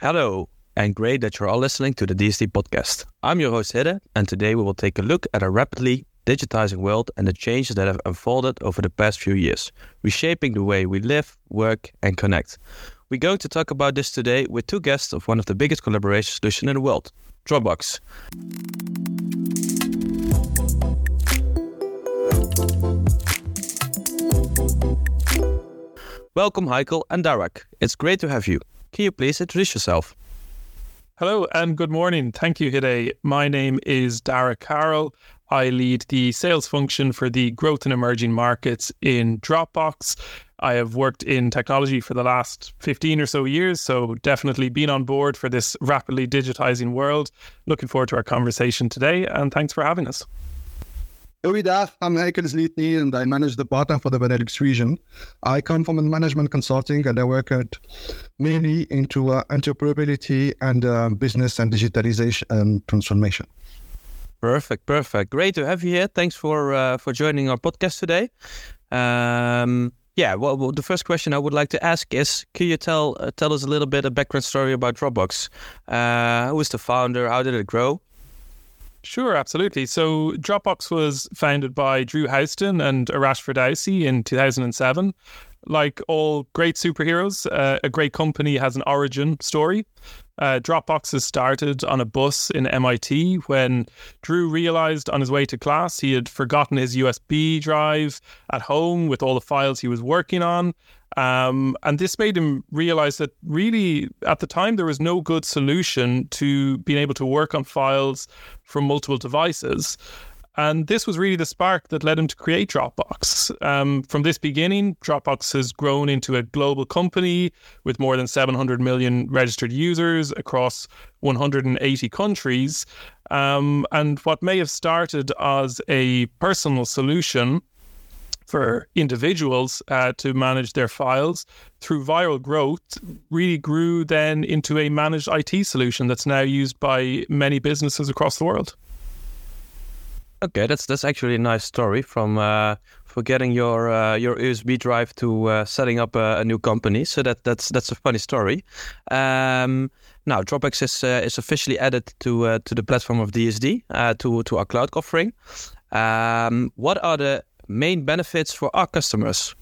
Hello, and great that you're all listening to the DSD podcast. I'm your host Hidde, and today we will take a look at a rapidly digitizing world and the changes that have unfolded over the past few years, reshaping the way we live, work, and connect. We're going to talk about this today with two guests of one of the biggest collaboration solutions in the world, Dropbox. Welcome, Heikel and Darek. It's great to have you. Can you please introduce yourself? Hello and good morning. Thank you, Hidde. My name is Darek Carroll. I lead the sales function for the growth and emerging markets in Dropbox. I have worked in technology for the last 15 or so years, so definitely been on board for this rapidly digitizing world. Looking forward to our conversation today, and thanks for having us. Goeiedag, I'm Heikel Zlitny and I manage the partner for the Benelux region. I come from management consulting and I work mainly into entrepreneurability and business and digitalization and transformation. Perfect. Great to have you here. Thanks for joining our podcast today. Well, the first question I would like to ask is, can you tell us a little bit a background story about Dropbox? Who is the founder? How did it grow? Sure, absolutely. So Dropbox was founded by Drew Houston and Arash Ferdowsi in 2007. Like all great superheroes, a great company has an origin story. Dropbox has started on a bus in MIT when Drew realized on his way to class he had forgotten his USB drive at home with all the files he was working on. And this made him realize that really at the time there was no good solution to being able to work on files from multiple devices. And this was really the spark that led him to create Dropbox. From this beginning, Dropbox has grown into a global company with more than 700 million registered users across 180 countries. And what may have started as a personal solution for individuals to manage their files through viral growth really grew then into a managed IT solution that's now used by many businesses across the world. Okay, that's actually a nice story from getting your USB drive to setting up a new company. So that's a funny story. Now Dropbox is officially added to the platform of DSD to our cloud offering. What are the main benefits for our customers?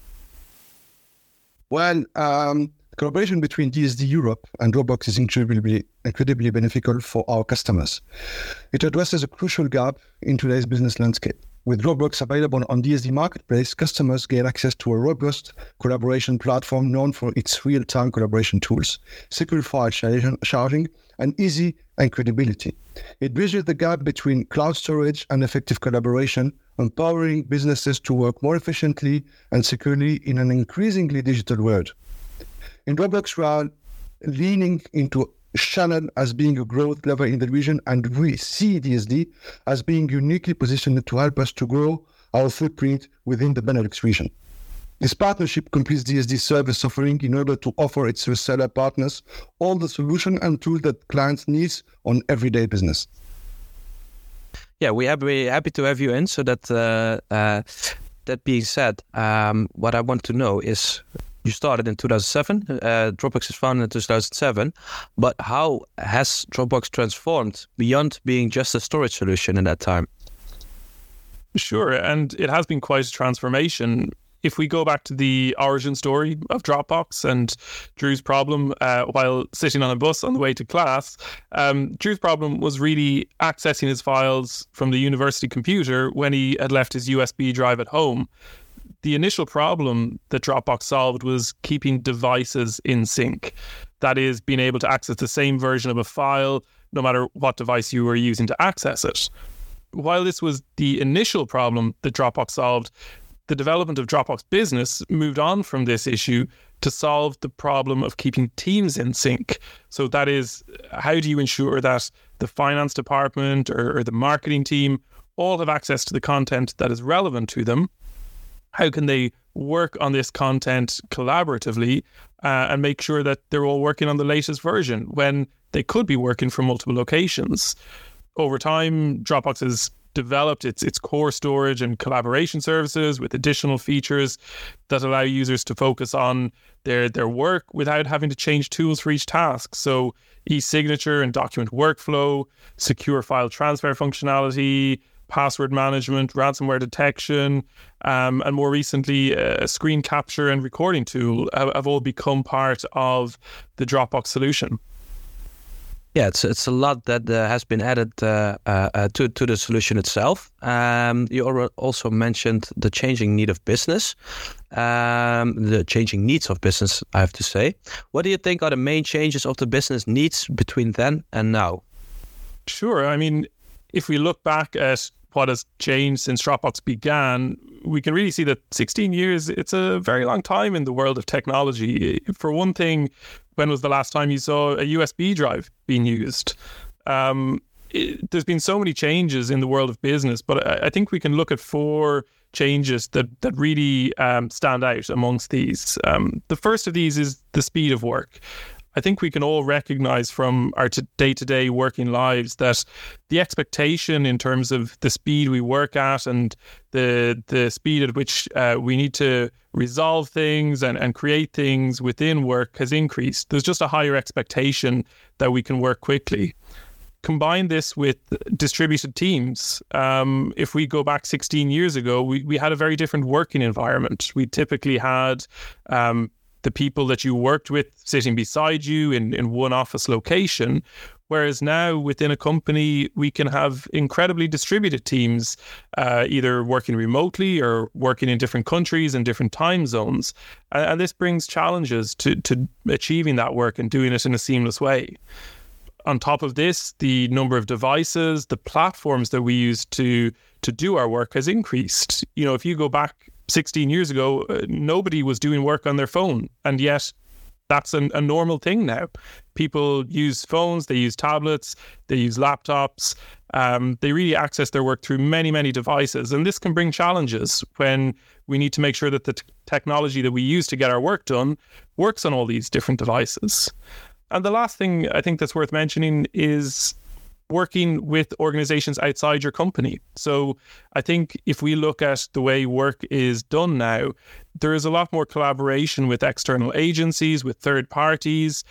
Well, collaboration between DSD Europe and Dropbox is incredibly beneficial for our customers. It addresses a crucial gap in today's business landscape. With Dropbox available on DSD Marketplace, customers gain access to a robust collaboration platform known for its real-time collaboration tools, secure file sharing, and easy and credibility. It bridges the gap between cloud storage and effective collaboration, empowering businesses to work more efficiently and securely in an increasingly digital world. In Dropbox, we are leaning into Shannon as being a growth lever in the region, and we see DSD as being uniquely positioned to help us to grow our footprint within the Benelux region. This partnership completes DSD's service offering in order to offer its reseller partners all the solution and tools that clients need on everyday business. Yeah, we're happy to have you in. So that being said, what I want to know is, you started in 2007, Dropbox is founded in 2007, but how has Dropbox transformed beyond being just a storage solution in that time? Sure, and it has been quite a transformation. If we go back to the origin story of Dropbox and Drew's problem while sitting on a bus on the way to class, Drew's problem was really accessing his files from the university computer when he had left his USB drive at home. The initial problem that Dropbox solved was keeping devices in sync. That is, being able to access the same version of a file no matter what device you were using to access it. While this was the initial problem that Dropbox solved, the development of Dropbox Business moved on from this issue to solve the problem of keeping teams in sync. So that is, how do you ensure that the finance department or the marketing team all have access to the content that is relevant to them? How can they work on this content collaboratively and make sure that they're all working on the latest version when they could be working from multiple locations? Over time, Dropbox has developed its core storage and collaboration services with additional features that allow users to focus on their work without having to change tools for each task. So e-signature and document workflow, secure file transfer functionality, password management, ransomware detection, and more recently, a screen capture and recording tool have all become part of the Dropbox solution. Yeah, it's a lot that has been added to the solution itself. You also mentioned the changing need of business, the changing needs of business, I have to say. What do you think are the main changes of the business needs between then and now? Sure. I mean, if we look back at what has changed since Dropbox began, we can really see that 16 years, it's a very long time in the world of technology. For one thing, when was the last time you saw a USB drive being used? There's been so many changes in the world of business, but I think we can look at 4 changes that really stand out amongst these. The first of these is the speed of work. I think we can all recognize from our day-to-day working lives that the expectation in terms of the speed we work at and the speed at which we need to resolve things and create things within work has increased. There's just a higher expectation that we can work quickly. Combine this with distributed teams. If we go back 16 years ago, we had a very different working environment. We typically had the people that you worked with sitting beside you in one office location, whereas now within a company, we can have incredibly distributed teams, either working remotely or working in different countries and different time zones. And this brings challenges to achieving that work and doing it in a seamless way. On top of this, the number of devices, the platforms that we use to do our work has increased. You know, if you go back 16 years ago, nobody was doing work on their phone. And yet that's a normal thing now. People use phones, they use tablets, they use laptops. They really access their work through many, many devices. And this can bring challenges when we need to make sure that the technology that we use to get our work done works on all these different devices. And the last thing I think that's worth mentioning is working with organizations outside your company. So I think if we look at the way work is done now, there is a lot more collaboration with external agencies, with third parties.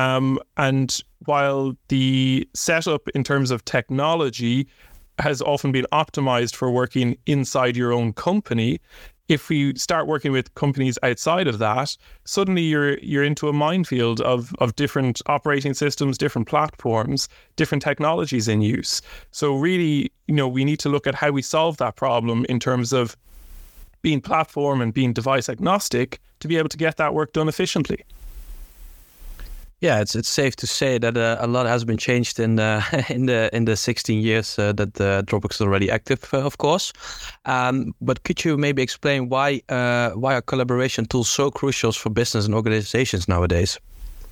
And while the setup in terms of technology has often been optimized for working inside your own company, if we start working with companies outside of that, suddenly you're into a minefield of different operating systems, different platforms, different technologies in use. So really, we need to look at how we solve that problem in terms of being platform and being device agnostic to be able to get that work done efficiently. Yeah, it's safe to say that a lot has been changed in the 16 years that Dropbox is already active, of course. But could you maybe explain why are collaboration tools so crucial for business and organizations nowadays?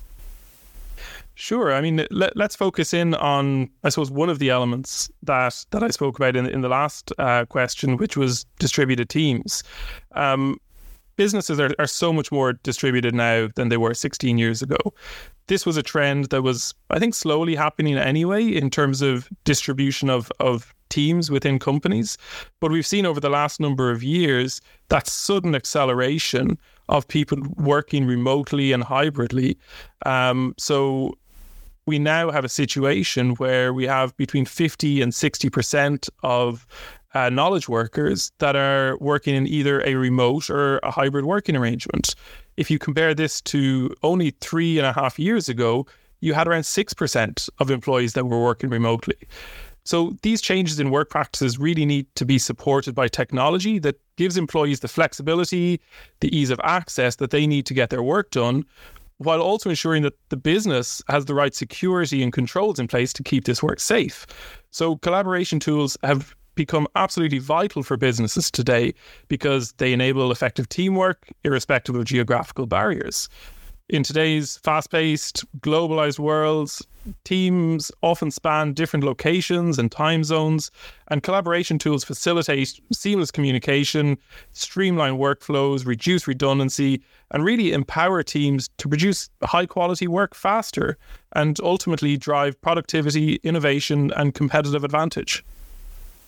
Sure. I mean, let's focus in on, I suppose, one of the elements that I spoke about in the last question, which was distributed teams. Businesses are so much more distributed now than they were 16 years ago. This was a trend that was, I think, slowly happening anyway in terms of distribution of teams within companies. But we've seen over the last number of years that sudden acceleration of people working remotely and hybridly. So we now have a situation where we have between 50 and 60% of knowledge workers that are working in either a remote or a hybrid working arrangement. If you compare this to only 3.5 years ago, you had around 6% of employees that were working remotely. So these changes in work practices really need to be supported by technology that gives employees the flexibility, the ease of access that they need to get their work done, while also ensuring that the business has the right security and controls in place to keep this work safe. So collaboration tools have become absolutely vital for businesses today because they enable effective teamwork irrespective of geographical barriers. In today's fast-paced, globalized world, teams often span different locations and time zones, and collaboration tools facilitate seamless communication, streamline workflows, reduce redundancy, and really empower teams to produce high-quality work faster and ultimately drive productivity, innovation, and competitive advantage.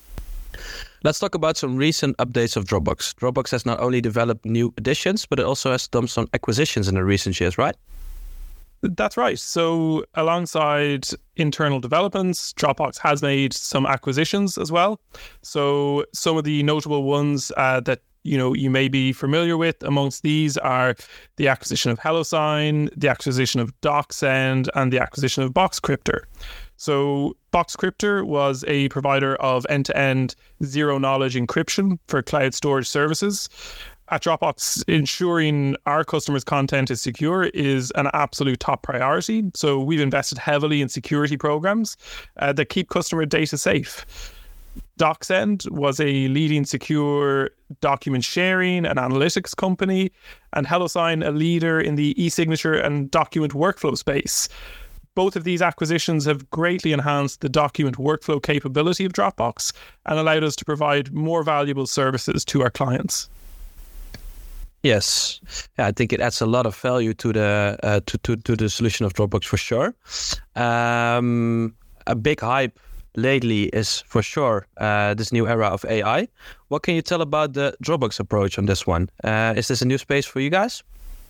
Let's talk about some recent updates of Dropbox. Dropbox has not only developed new additions, but it also has done some acquisitions in the recent years, right? That's right. So alongside internal developments, Dropbox has made some acquisitions as well. So some of the notable ones that you may be familiar with amongst these are the acquisition of HelloSign, the acquisition of DocSend, and the acquisition of Boxcryptor. So Boxcryptor was a provider of end-to-end zero-knowledge encryption for cloud storage services. At Dropbox, ensuring our customers' content is secure is an absolute top priority. So we've invested heavily in security programs that keep customer data safe. DocSend was a leading secure document sharing and analytics company, and HelloSign a leader in the e-signature and document workflow space. Both of these acquisitions have greatly enhanced the document workflow capability of Dropbox and allowed us to provide more valuable services to our clients. Yes, I think it adds a lot of value to the to the solution of Dropbox for sure. A big hype lately is for sure this new era of AI. What can you tell about the Dropbox approach on this one? Is this a new space for you guys?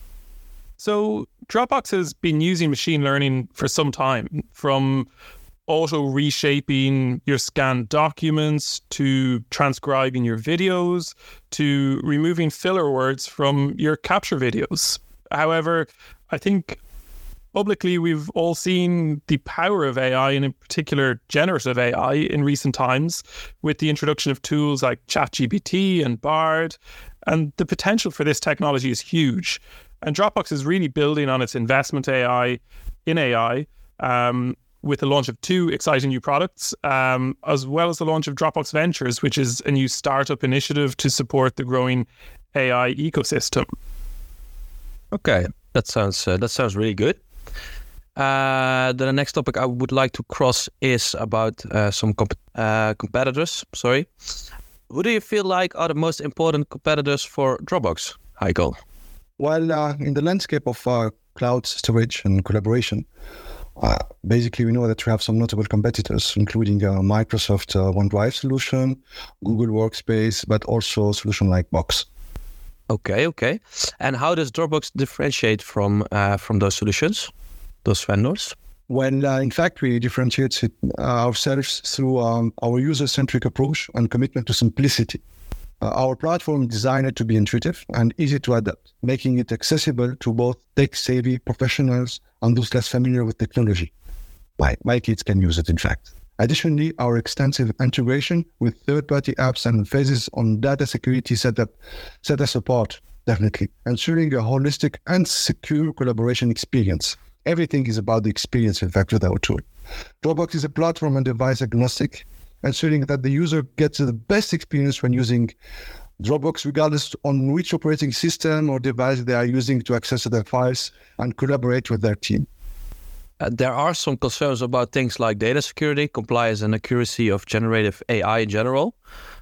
So Dropbox has been using machine learning for some time, from auto reshaping your scanned documents to transcribing your videos to removing filler words from your capture videos. However, I think publicly we've all seen the power of AI, and in particular generative AI, in recent times with the introduction of tools like ChatGPT and Bard, and the potential for this technology is huge. And Dropbox is really building on its investment in AI, with the launch of 2 exciting new products, as well as the launch of Dropbox Ventures, which is a new startup initiative to support the growing AI ecosystem. Okay, that sounds really good. The next topic I would like to cross is about some competitors. Sorry, who do you feel like are the most important competitors for Dropbox, Heiko? Well, in the landscape of cloud storage and collaboration, basically we know that we have some notable competitors, including Microsoft OneDrive solution, Google Workspace, but also solution like Box. Okay. And how does Dropbox differentiate from those solutions, those vendors? Well, in fact, we differentiate ourselves through our user-centric approach and commitment to simplicity. Our platform is designed to be intuitive and easy to adapt, making it accessible to both tech-savvy professionals and those less familiar with technology. My kids can use it, in fact. Additionally, our extensive integration with third-party apps and emphasis on data security set us apart, definitely, ensuring a holistic and secure collaboration experience. Everything is about the experience, in fact, with our tool. Dropbox is a platform and device agnostic, ensuring that the user gets the best experience when using Dropbox, regardless on which operating system or device they are using to access their files and collaborate with their team. There are some concerns about things like data security, compliance, and accuracy of generative AI in general.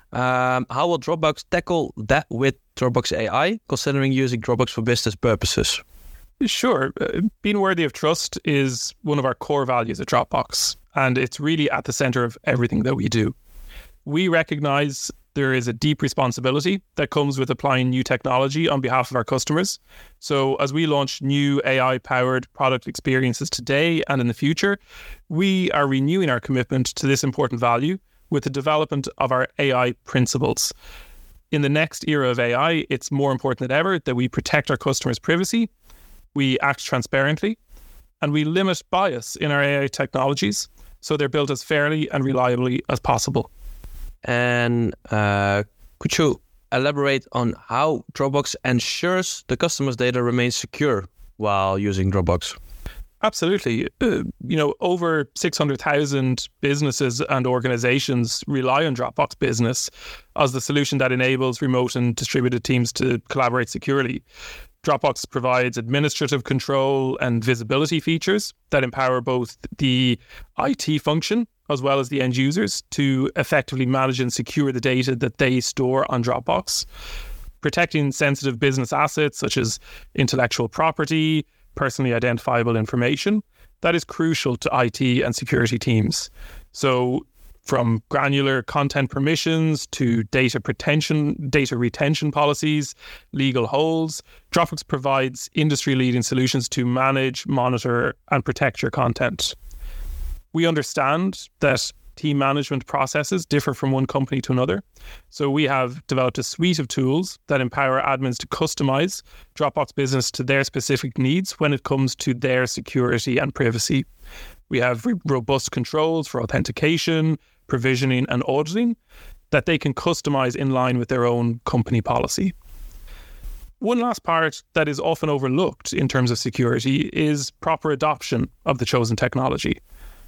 How will Dropbox tackle that with Dropbox AI, considering using Dropbox for business purposes? Sure. Being worthy of trust is one of our core values at Dropbox, and it's really at the center of everything that we do. We recognize there is a deep responsibility that comes with applying new technology on behalf of our customers. So as we launch new AI-powered product experiences today and in the future, we are renewing our commitment to this important value with the development of our AI principles. In the next era of AI, it's more important than ever that we protect our customers' privacy, we act transparently, and we limit bias in our AI technologies so they're built as fairly and reliably as possible. And could you elaborate on how Dropbox ensures the customer's data remains secure while using Dropbox? Absolutely. Over 600,000 businesses and organizations rely on Dropbox Business as the solution that enables remote and distributed teams to collaborate securely. Dropbox provides administrative control and visibility features that empower both the IT function as well as the end users to effectively manage and secure the data that they store on Dropbox. Protecting sensitive business assets such as intellectual property, personally identifiable information, that is crucial to IT and security teams. So From granular content permissions to data retention policies, legal holds, Dropbox provides industry-leading solutions to manage, monitor, and protect your content. We understand that team management processes differ from one company to another. So we have developed a suite of tools that empower admins to customize Dropbox Business to their specific needs when it comes to their security and privacy. We have robust controls for authentication, provisioning, and auditing that they can customize in line with their own company policy. One last part that is often overlooked in terms of security is proper adoption of the chosen technology.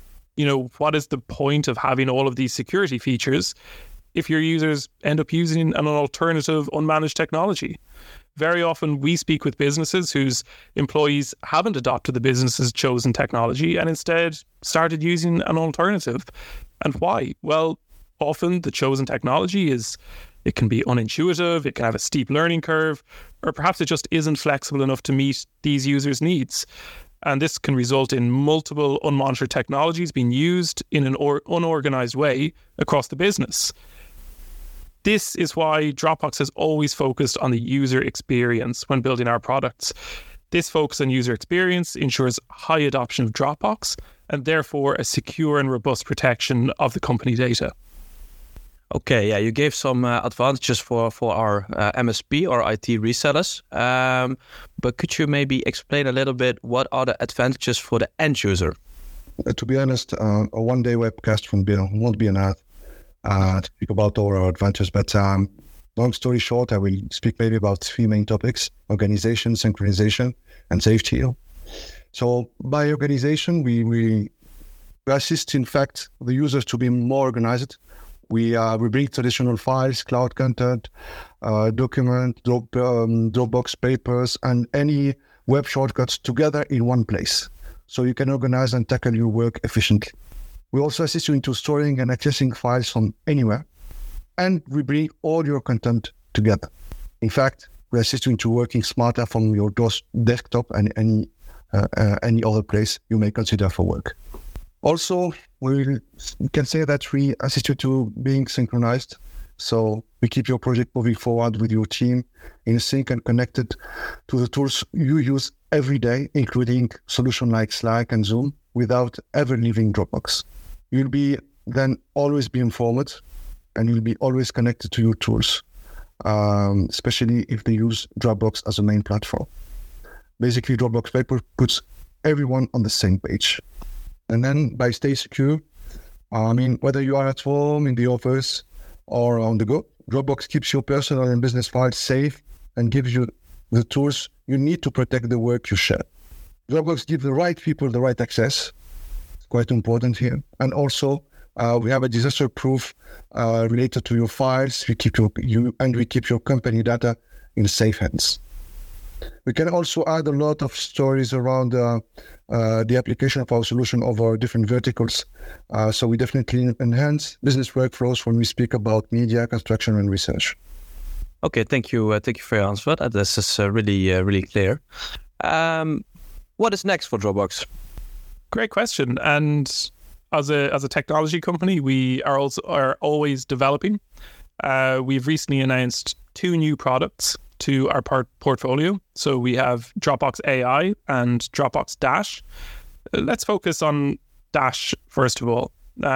What is the point of having all of these security features if your users end up using an alternative unmanaged technology? Very often we speak with businesses whose employees haven't adopted the business's chosen technology and instead started using an alternative. And why? Well, often the chosen technology it can be unintuitive, it can have a steep learning curve, or perhaps it just isn't flexible enough to meet these users' needs. And this can result in multiple unmonitored technologies being used in an unorganized way across the business. This is why Dropbox has always focused on the user experience when building our products. This focus on user experience ensures high adoption of Dropbox and therefore a secure and robust protection of the company data. Okay, yeah, you gave some advantages for our MSP or IT resellers, but could you maybe explain a little bit what are the advantages for the end user? To be honest, a one-day webcast from Bill won't be enough to speak about all our advantages, but long story short, I will speak maybe about three main topics: organization, synchronization, and safety. So by organization, we assist, in fact, the users to be more organized. We bring traditional files, cloud content, Dropbox papers, and any web shortcuts together in one place, so you can organize and tackle your work efficiently. We also assist you into storing and accessing files from anywhere, and we bring all your content together. In fact, we assist you into working smarter from your desktop and any other place you may consider for work. Also, we can say that we assist you to being synchronized. So we keep your project moving forward with your team in sync and connected to the tools you use every day, including solutions like Slack and Zoom, without ever leaving Dropbox. You'll be then always be informed, and you'll be always connected to your tools, especially if they use Dropbox as a main platform. Basically, Dropbox Paper puts everyone on the same page. And then by stay secure, whether you are at home, in the office, or on the go, Dropbox keeps your personal and business files safe and gives you the tools you need to protect the work you share. Dropbox gives the right people the right access. It's quite important here. And also, we have a disaster-proof related to your files. We keep your company data in safe hands. We can also add a lot of stories around the application of our solution over different verticals. So we definitely enhance business workflows when we speak about media, construction, and research. Okay, thank you for your answer. This is really clear. What is next for Dropbox? Great question. And as a technology company, we are always developing. We've recently announced 2 new products to our portfolio. So we have Dropbox AI and Dropbox Dash. Let's focus on Dash first of all.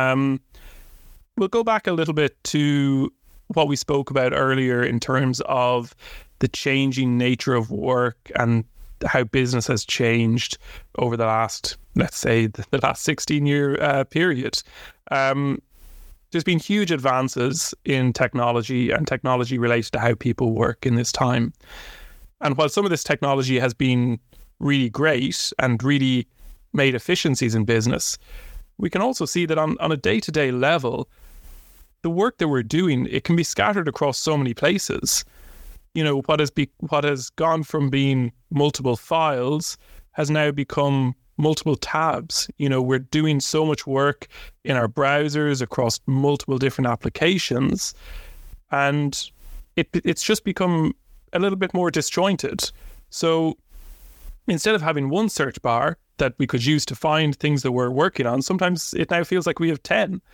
We'll go back a little bit to what we spoke about earlier in terms of the changing nature of work and how business has changed over the last, let's say, the last 16-year period. There's been huge advances in technology and technology related to how people work in this time. And while some of this technology has been really great and really made efficiencies in business, we can also see that on a day-to-day level, the work that we're doing, it can be scattered across so many places. What has gone from being multiple files has now become multiple tabs. We're doing so much work in our browsers across multiple different applications, and it's just become a little bit more disjointed. So instead of having one search bar that we could use to find things that we're working on, sometimes it now feels like we have 10.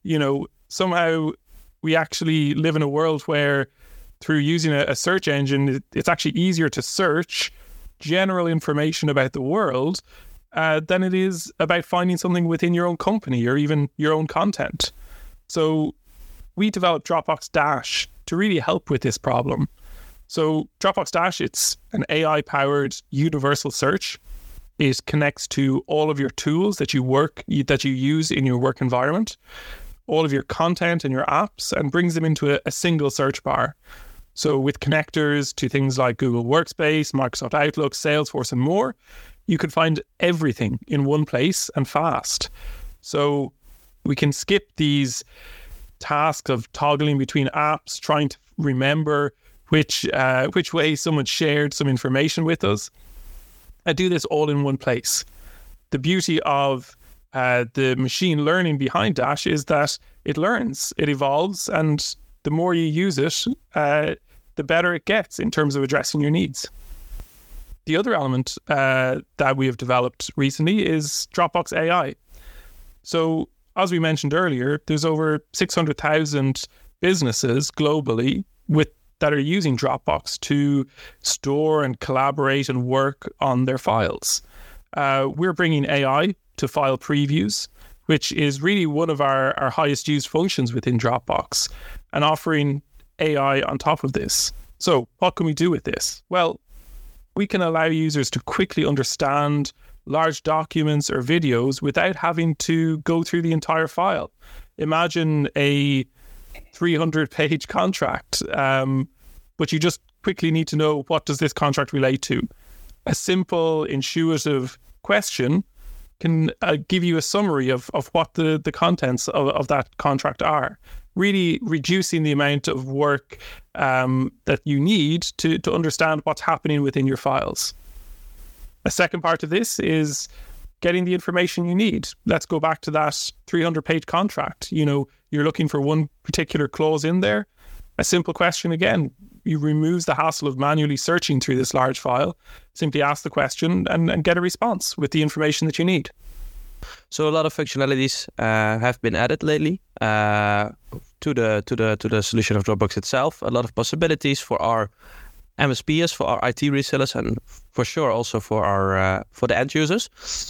somehow we actually live in a world where through using a search engine, it's actually easier to search general information about the world than it is about finding something within your own company or even your own content. So we developed Dropbox Dash to really help with this problem. So Dropbox Dash, it's an AI-powered universal search. It connects to all of your tools that you use in your work environment, all of your content and your apps, and brings them into a single search bar. So with connectors to things like Google Workspace, Microsoft Outlook, Salesforce, and more, you can find everything in one place and fast. So we can skip these tasks of toggling between apps, trying to remember which way someone shared some information with us. I do this all in one place. The beauty of the machine learning behind Dash is that it learns, it evolves, and the more you use it, the better it gets in terms of addressing your needs. The other element that we have developed recently is Dropbox AI. So, as we mentioned earlier, there's over 600,000 businesses globally that are using Dropbox to store and collaborate and work on their files. We're bringing AI to file previews, which is really one of our highest used functions within Dropbox, and offering AI on top of this. So what can we do with this? Well, we can allow users to quickly understand large documents or videos without having to go through the entire file. Imagine a 300-page contract, but you just quickly need to know, what does this contract relate to? A simple, intuitive question can give you a summary of what the contents of that contract are, really reducing the amount of work that you need to understand what's happening within your files. A second part of this is getting the information you need. Let's go back to that 300-page contract. You're looking for one particular clause in there. A simple question again, you removes the hassle of manually searching through this large file. Simply ask the question and get a response with the information that you need. So a lot of functionalities have been added lately to the solution of Dropbox itself. A lot of possibilities for our MSPs, for our IT resellers, and for sure also for the end users.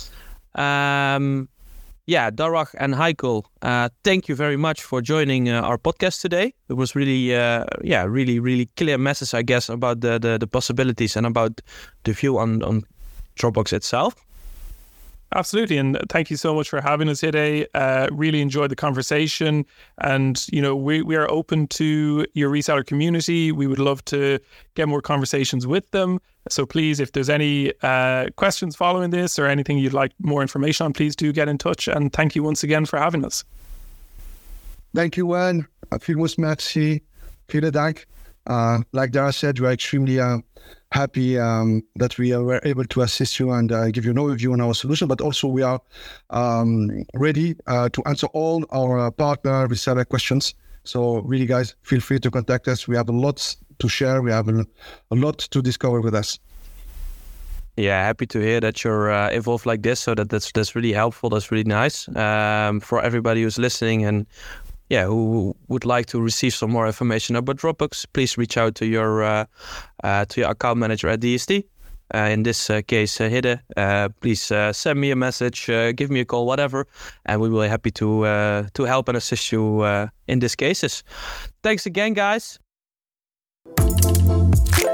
Darach and Heiko, thank you very much for joining our podcast today. It was really, really clear message, I guess, about the possibilities and about the view on Dropbox itself. Absolutely, and thank you so much for having us today. Really enjoyed the conversation, and we are open to your reseller community. We would love to get more conversations with them. So please, if there's any questions following this or anything you'd like more information on, please do get in touch. And thank you once again for having us. Thank you, Juan. Vielmals merci. Vielen Dank. Like Dara said, we are extremely happy that we were able to assist you and give you an overview on our solution, but also we are ready to answer all our partner reseller questions. So really, guys, feel free to contact us. We have a lot to share. We have a lot to discover with us. Yeah, happy to hear that you're involved like this. So that's really helpful. That's really nice for everybody who's listening and who would like to receive some more information about Dropbox. Please reach out to your account manager at DST. In this case, Hidde. Please send me a message, give me a call, whatever, and we will be happy to help and assist you in these cases. Thanks again, guys.